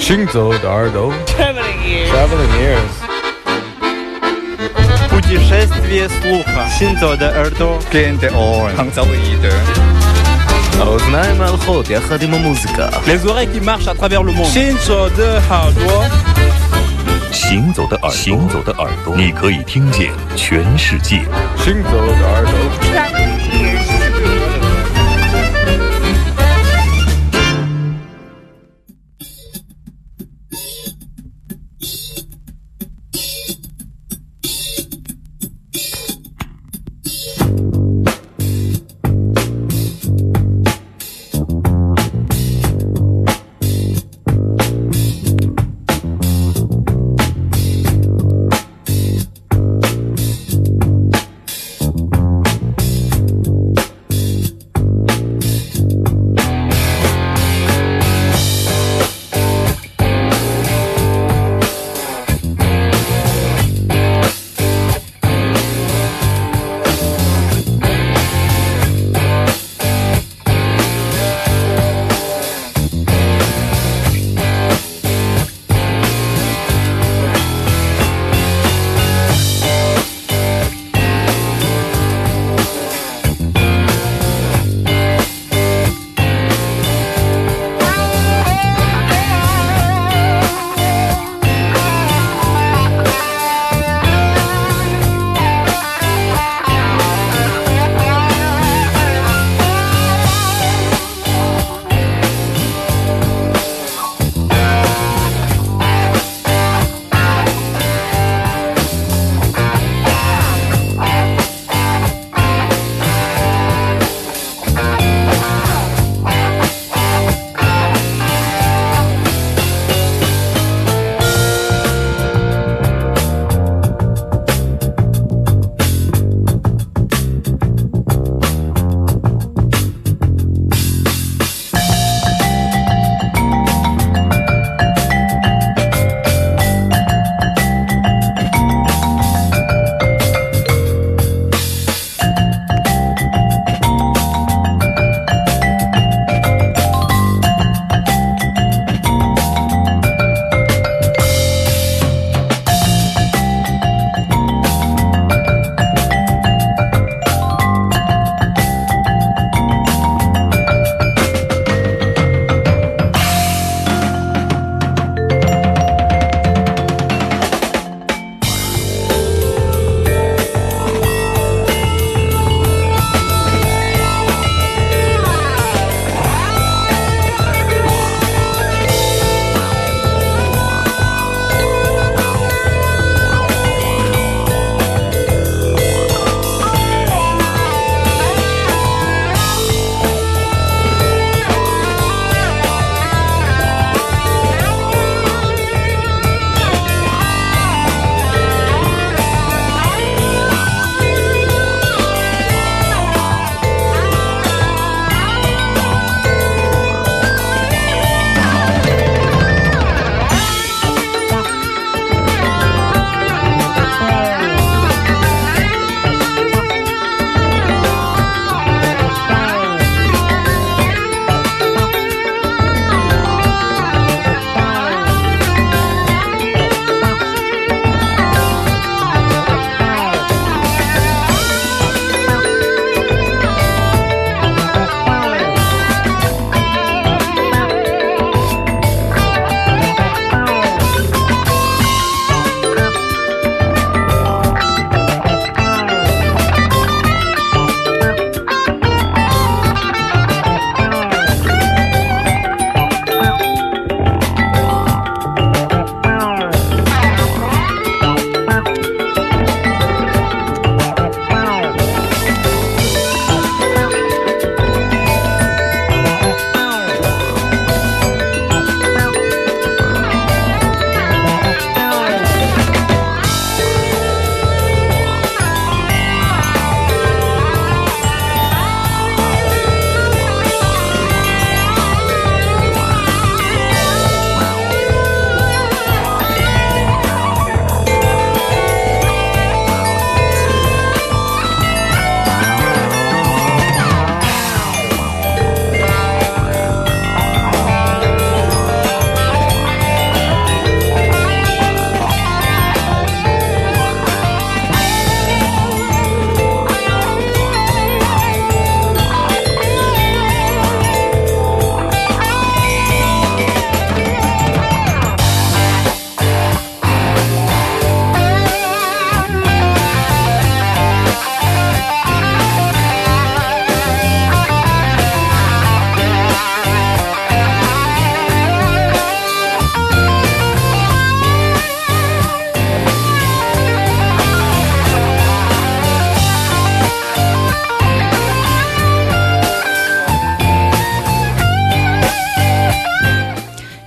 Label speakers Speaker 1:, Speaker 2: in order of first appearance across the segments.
Speaker 1: 行走的耳朵
Speaker 2: Traveling ears.
Speaker 3: Путешествие слуха. Синто de耳朵.
Speaker 2: Gente on.
Speaker 4: Hangzauide.
Speaker 1: האוזניים ההלכות יחד עם המוזיקה.
Speaker 3: Les oreilles qui marchent à travers le monde.
Speaker 4: Shinzo de 耳朵。
Speaker 5: 行走的耳朵，你可以听见全世界。
Speaker 1: 行走的耳朵。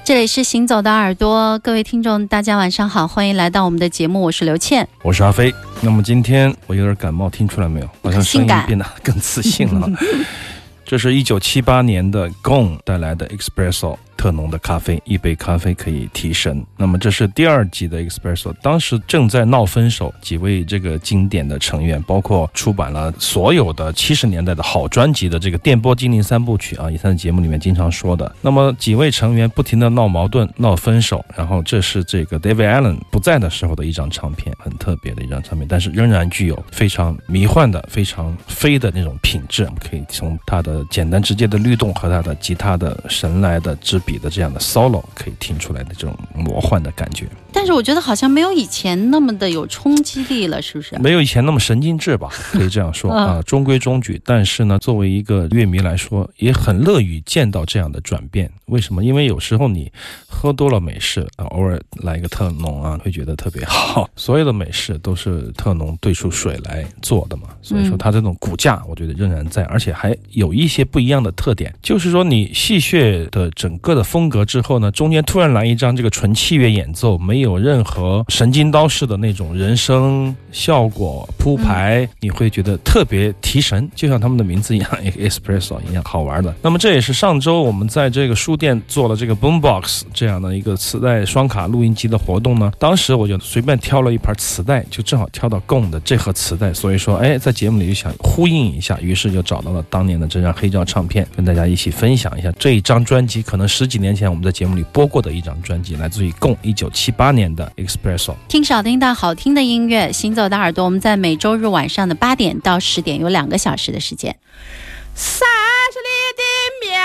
Speaker 6: 这里是行走的耳朵，各位听众大家晚上好，欢迎来到我们的节目，我是刘倩，
Speaker 2: 我是阿飞。那么今天我有点感冒，听出来没有？好像声音变得更自信了。这是1978年的 Gong 带来的 Espresso 特浓的咖啡，一杯咖啡可以提神。那么这是第2集的 Espresso， 当时正在闹分手，几位这个经典的成员，包括出版了所有的70年代的好专辑的这个电波精灵3部曲啊，以前的节目里面经常说的。那么几位成员不停的闹矛盾、闹分手，然后这是这个 David Allen 不在的时候的一张唱片，很特别的一张唱片，但是仍然具有非常迷幻的、非常飞的那种品质。我们可以从它的简单直接的律动和它的吉他的神来的支笔的这样的 solo 可以听出来的这种魔幻的感觉。
Speaker 6: 但是我觉得好像没有以前那么的有冲击力了，是不是？
Speaker 2: 没有以前那么神经质吧，可以这样说啊，中规中矩。但是呢，作为一个乐迷来说，也很乐于见到这样的转变。为什么？因为有时候你喝多了美式啊，偶尔来一个特浓啊，会觉得特别好。所有的美式都是特浓兑出水来做的嘛，所以说它这种骨架，我觉得仍然在，而且还有一些不一样的特点，就是说你戏谑的整个的风格之后呢，中间突然来一张这个纯器乐演奏，没有任何神经刀式的那种人声效果铺排，你会觉得特别提神，就像他们的名字一样 Espresso 一样好玩的。那么这也是上周我们在这个书店做了这个 Boombox 这样的一个磁带双卡录音机的活动呢，当时我就随便挑了一盘磁带，就正好挑到 Gong 的这盒磁带，所以说在节目里就想呼应一下，于是就找到了当年的这张黑胶唱片，跟大家一起分享一下这一张专辑，可能10几年前我们在节目里播过的一张专辑，来自于 Gong 1978年的 Espresso。
Speaker 6: 听少听到好听的音乐，行走的耳朵，我们在每周日晚上的8点到10点有2个小时的时间。
Speaker 7: 30里的面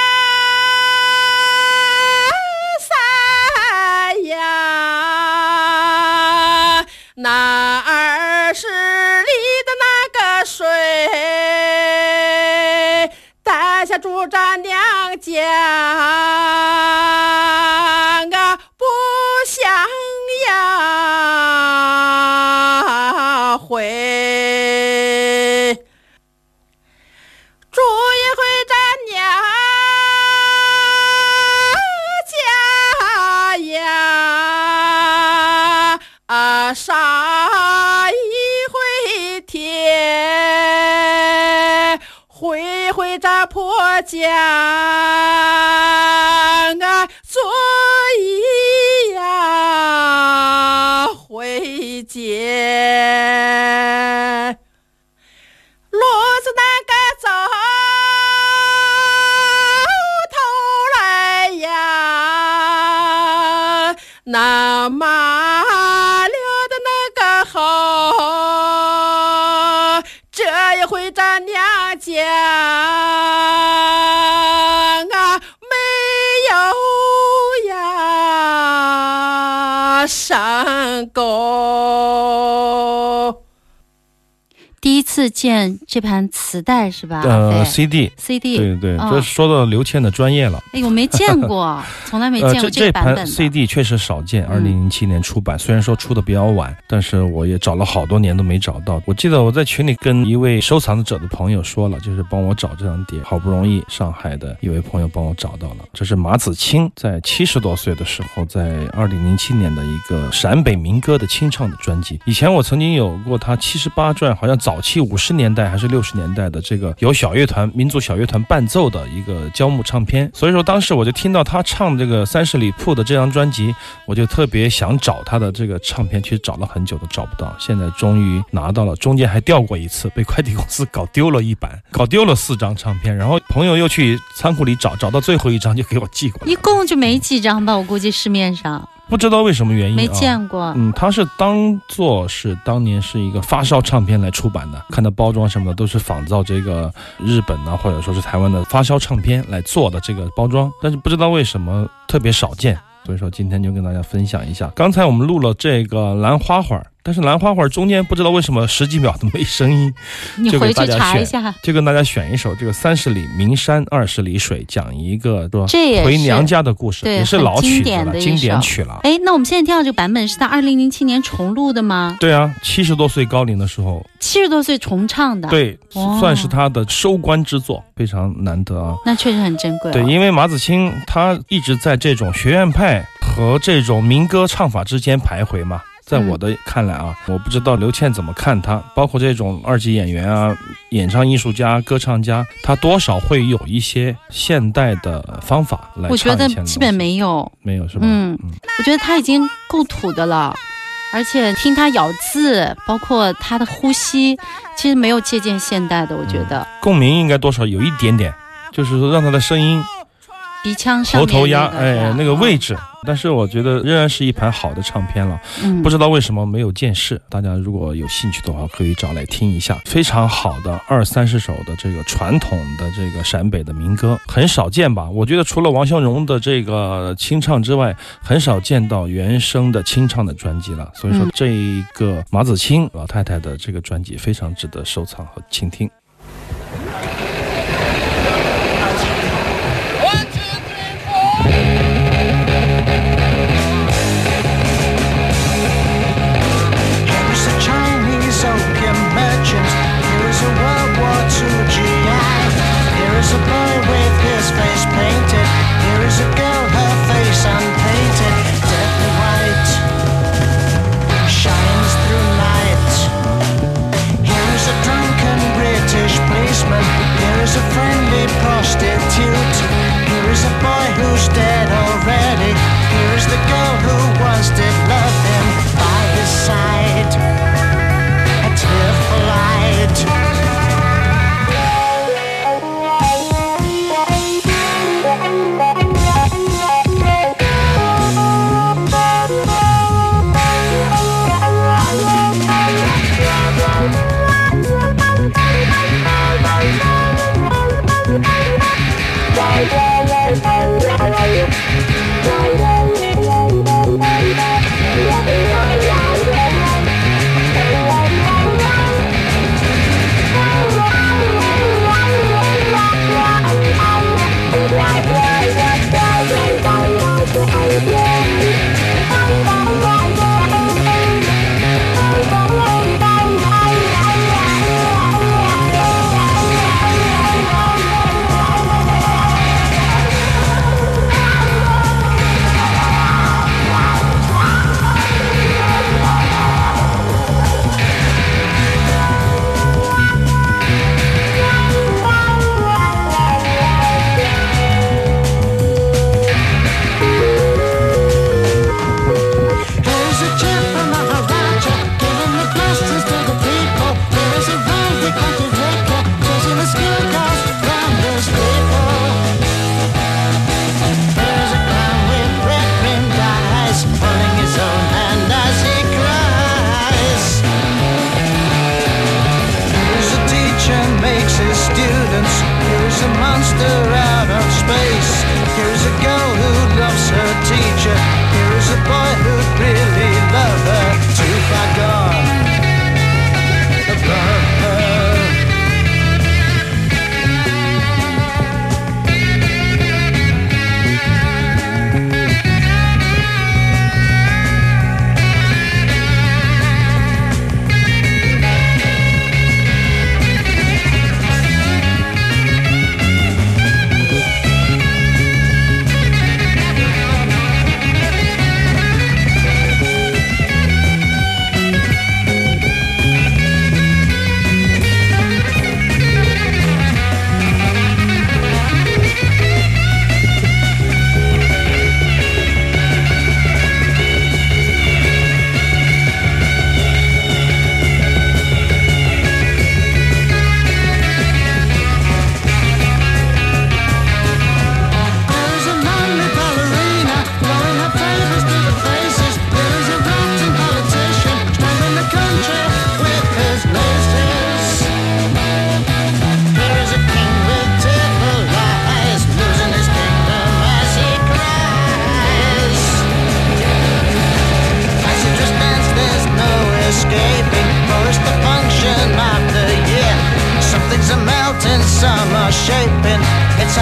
Speaker 7: 山呀，那20里的那个水，带下住着娘家啊，不想呀回。住一回这娘家呀，杀一回天，回回这婆家啊，做一呀回见。路子那个走头来呀，那马溜的那个好，这一回这娘家啊，没有呀上钩。
Speaker 6: 第一次见这盘磁带是吧
Speaker 2: ？CD， 对对，这说到刘倩的专业了。
Speaker 6: 我没见过，从来没见过这个版本的。
Speaker 2: 这盘 CD 确实少见，2007年出版，虽然说出的比较晚，但是我也找了好多年都没找到。我记得我在群里跟一位收藏者的朋友说了，就是帮我找这张碟，好不容易上海的一位朋友帮我找到了。这是马子清在70多岁的时候，在2007年的一个陕北民歌的清唱的专辑。以前我曾经有过他78转，好像早期50年代还是60年代的这个有小乐团、民族小乐团伴奏的一个胶木唱片，所以说当时我就听到他唱这个30里铺的这张专辑，我就特别想找他的这个唱片，其实找了很久都找不到，现在终于拿到了，中间还掉过一次，被快递公司搞丢了一版，搞丢了4张唱片，然后朋友又去仓库里找到最后一张就给我寄过来，
Speaker 6: 一共就没几张吧，我估计市面上
Speaker 2: 不知道为什么原因
Speaker 6: 没见过。
Speaker 2: 它是当做是当年是一个发烧唱片来出版的，看到包装什么的都是仿造这个日本啊或者说是台湾的发烧唱片来做的这个包装，但是不知道为什么特别少见，所以说今天就跟大家分享一下。刚才我们录了这个兰花花， 但是兰花会中间不知道为什么10几秒都没声音，
Speaker 6: 你回去查一下，
Speaker 2: 就跟大家选一首这个30里名山20里水，讲一个
Speaker 6: 这也是
Speaker 2: 回娘家的故事，
Speaker 6: 对，
Speaker 2: 也是老曲子了，经典
Speaker 6: 曲
Speaker 2: 了。
Speaker 6: 哎，那我们现在听到这个版本是在2007年重录的吗？
Speaker 2: 对啊，70多岁高龄的时候
Speaker 6: ，70多岁重唱的，
Speaker 2: 对，算是他的收官之作，非常难得啊。
Speaker 6: 那确实很珍贵。
Speaker 2: 对，因为马子清他一直在这种学院派和这种民歌唱法之间徘徊嘛。在我的看来啊，我不知道刘倩怎么看他，包括这种2级演员啊、演唱艺术家、歌唱家，他多少会有一些现代的方法来唱。
Speaker 6: 我觉得基本没有是吧？我觉得他已经够土的了，而且听他咬字，包括他的呼吸，其实没有借鉴现代的。我觉得
Speaker 2: 共鸣应该多少有一点点，就是说让他的声音。
Speaker 6: 鼻腔上面
Speaker 2: 头压那个位置，但是我觉得仍然是一盘好的唱片了。不知道为什么没有见识，大家如果有兴趣的话，可以找来听一下，非常好的20-30首的这个传统的这个陕北的民歌，很少见吧？我觉得除了王湘荣的这个清唱之外，很少见到原声的清唱的专辑了。所以说，这一个马子清老太太的这个专辑非常值得收藏和倾听。
Speaker 8: Here's a boy with his face painted. Here is a girl, her face unpainted. Deadly white shines through night. Here is a drunken British policeman. Here is a friendly prostitute. Here is a boy who's dead already. Here is the girl who once did love him. By his side, a tearful light.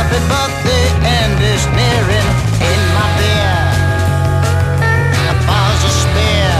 Speaker 8: happy, but the end is nearing. In my beer, a bar's a spear.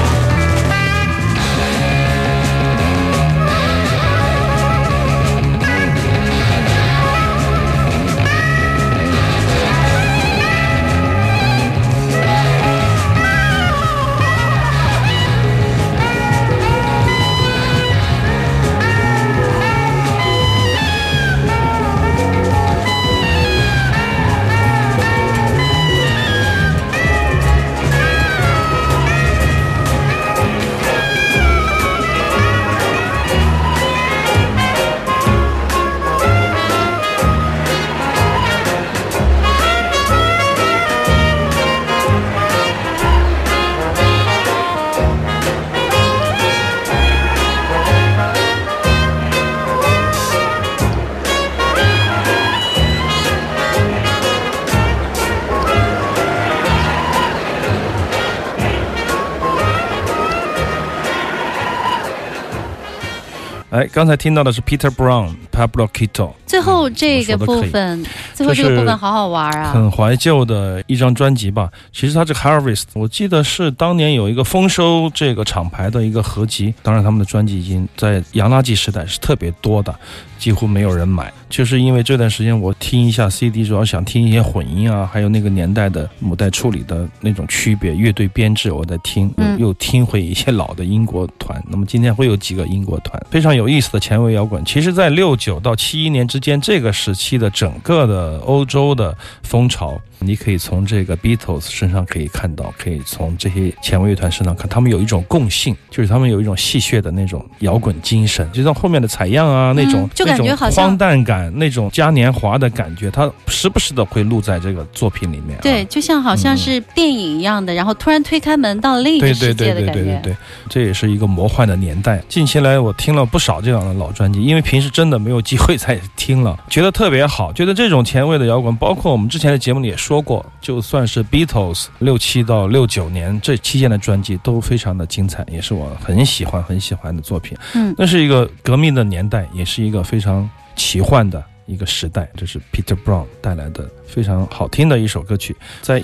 Speaker 2: 刚才听到的是 Peter Brown、Pablo Quito。
Speaker 6: 最后这个部分，好好玩啊，
Speaker 2: 很怀旧的一张专辑吧。其实它这个 Harvest， 我记得是当年有一个丰收这个厂牌的一个合集。当然，他们的专辑已经在洋垃圾时代是特别多的，几乎没有人买。就是因为这段时间我听一下 CD， 主要想听一些混音啊，还有那个年代的母带处理的那种区别，乐队编制我在听，又听回一些老的英国团。那么今天会有几个英国团，非常有意思的前卫摇滚。其实在69到71年之间这个时期的整个的欧洲的风潮，你可以从这个 Beatles 身上可以看到，可以从这些前卫乐团身上看，他们有一种共性，就是他们有一种戏谑的那种摇滚精神，就像后面的采样啊那种，
Speaker 6: 就感觉好像
Speaker 2: 荒诞感，那种嘉年华的感觉，它时不时的会录在这个作品里面。
Speaker 6: 对，就像好像是电影一样的，然后突然推开门到另一个世界的感觉。
Speaker 2: 对，这也是一个魔幻的年代。近期来我听了不少这样的老专辑，因为平时真的没有机会再听了，觉得特别好。觉得这种前卫的摇滚，包括我们之前的节目里也说过，就算是 Beatles 67到69年这期间的专辑都非常的精彩，也是我很喜欢的作品。那是一个革命的年代，也是一个非常奇幻的一个时代。这是 Peter Brown 带来的非常好听的一首歌曲，在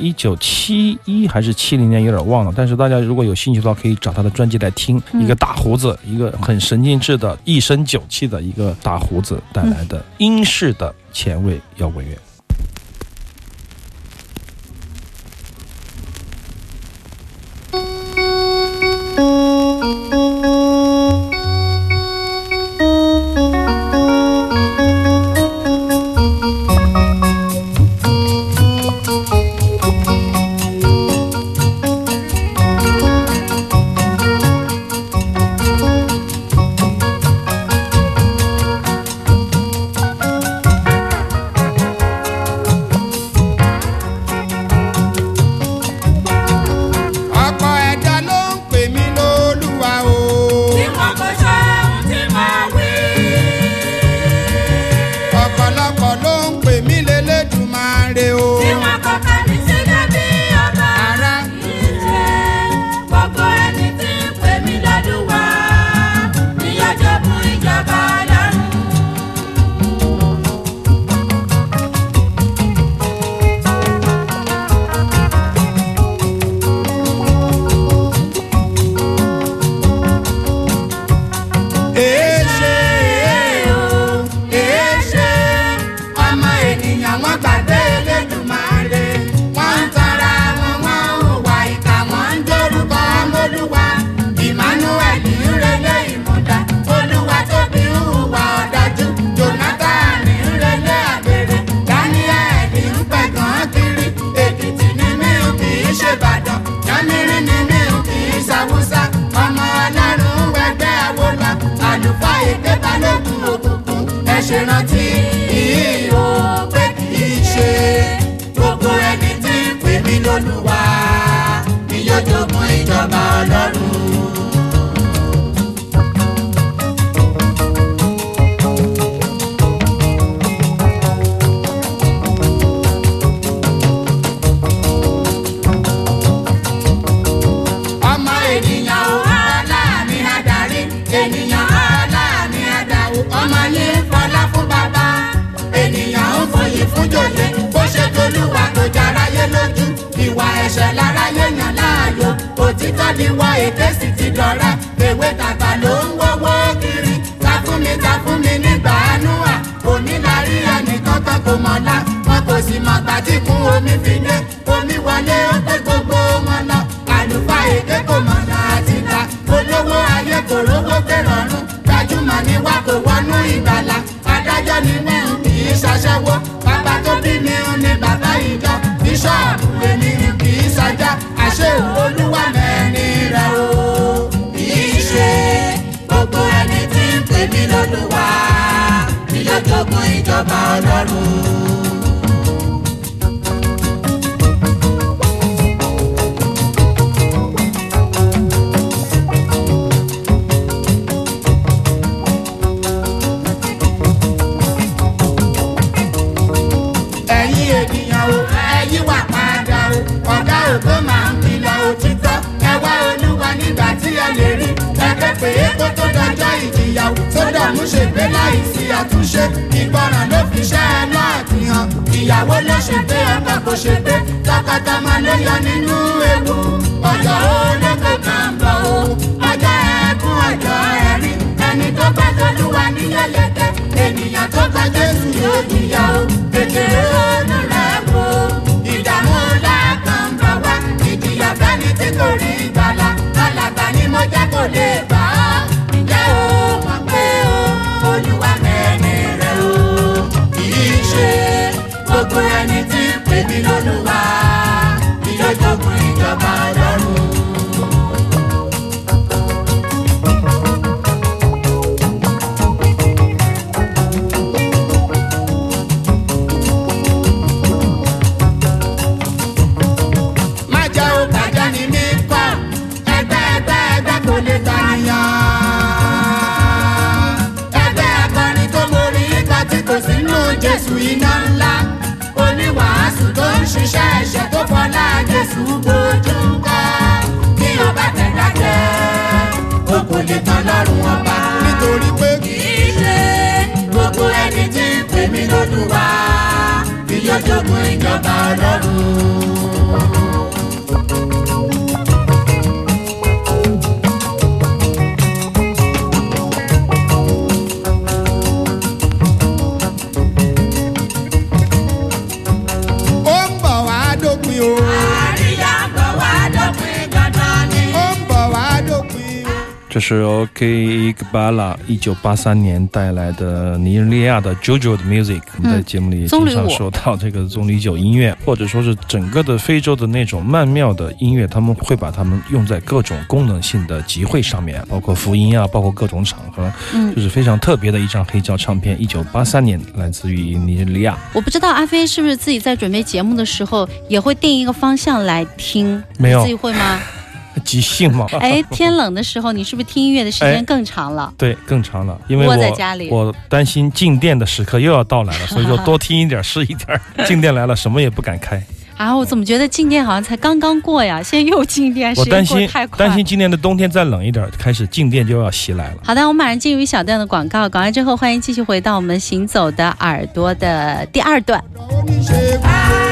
Speaker 2: 1971还是70年有点忘了，但是大家如果有兴趣的话可以找他的专辑来听。一个大胡子，一个很神经质的一身酒气的一个大胡子带来的英式的前卫摇滚乐。
Speaker 9: ṣèrántí ìhò pé kì í ṣe gbogbo ẹni tí ń pè mí lólúwa ni yóò jogún ìjọba Ọlọ́run. Fọlá fún bàbá, ènìyàn ń fòyì fún ẹ̀ṣẹ̀ lára yéèyàn láàyò òtítọ́ ni wọ́n èké sì ti dọ̀rẹ́ ewé tàgbà ló ń wọ́wọ́ kiri ta fún mi nígbà àánú à onílárí ẹnìkan kan kò mọ̀lá wọn kò sì mọ̀ gbà tí kún omi fi dé omi wọlé ó pé gbogbo wọn lọ àlùfáà èké kò mọ̀nà àti ta olówó ayé kò rówó pé rọrùn gbajúmọ̀ ni wá kò wọnú ìgbàlà adájọ́ ni wọ́n kì í ṣaṣẹ́wó bàbá tó bí mi ní bàbá ìjọ bíṣọ́ọ̀bù èmi kì í ṣajá àṣẹ olúwa mẹ́rin rẹ̀ o kì í ṣe gbogbo ẹni tí ń pè mí lólúwa ni yóò jogún ìjọba ọlọ́run. Ògo máa ń kìlọ̀ òtítọ́ ẹ wá olúwa nígbà tí ẹ lè rí ẹgbẹ́ pé kó tó dọjọ́ ìjìyàwó sódòmù ṣègbé láì sí àtúnṣe ìgbọràn ló fi ṣẹ́ ẹ náà fi hàn ìyàwó ló ṣe pé ọkọ kò ṣe pé tọkọtọmọ ló yọ nínú ewu ọjọ́ olóko kan bọ̀ o ọjọ́ ẹkún ọjọ́ ẹ̀rín ẹni tó bá tolúwa níyẹlẹkẹ ènìyàn tó bá Jésù yóò jìyà o kékeré ọ̀nà rẹ̀ wò ìdààmú lákàn bá wá ìjìyà fẹ́ni tí kò rí ìgbàlà alàgbà ni mo jẹ́ kò lè bá a ǹjẹ́ o mọ̀ pé o olúwa mẹ́ni rẹ̀ o kì í ṣe gbogbo ẹni tí ń pè mí lólúwa ni yóò jogún ìjọba ọlọ́run. Jésù iná ńlá oníwàásù tó ń ṣiṣẹ́ ẹ̀ṣẹ̀ tó fọlá Jésù bójú kọ́ kí ọba tẹ̀dájẹ́ o kò lè tán lọ́rùn ọba nítorí pé kì í ṣe gbogbo ẹni tí ń pè mí lólúwa ni yóò jogún ìjọba ọlọ́run.
Speaker 2: 这是 OK Iqbala 1983年带来的尼日利亚的 JoJo 的 music。我们在节目里也经常说到这个棕榈酒音乐，或者说是整个的非洲的那种曼妙的音乐，他们会把它们用在各种功能性的集会上面，包括福音啊，包括各种场合，就是非常特别的一张黑胶唱片。1983年来自于尼日利亚。
Speaker 6: 我不知道阿飞是不是自己在准备节目的时候也会定一个方向来听？
Speaker 2: 没有，
Speaker 6: 你自己会吗？
Speaker 2: 即兴嘛。
Speaker 6: 哎，天冷的时候你是不是听音乐的时间更长了？
Speaker 2: 对，更长了，因为
Speaker 6: 窝在家里
Speaker 2: 我担心静电的时刻又要到来了，所以说多听一点是一点。静电来了什么也不敢开。
Speaker 6: 啊，我怎么觉得静电好像才刚刚过呀，现在又静电，时间过得太快。
Speaker 2: 担心今年的冬天再冷一点，开始静电就要袭来了。
Speaker 6: 好的，我们马上进入一小段的广告，广告之后欢迎继续回到我们行走的耳朵的第二段。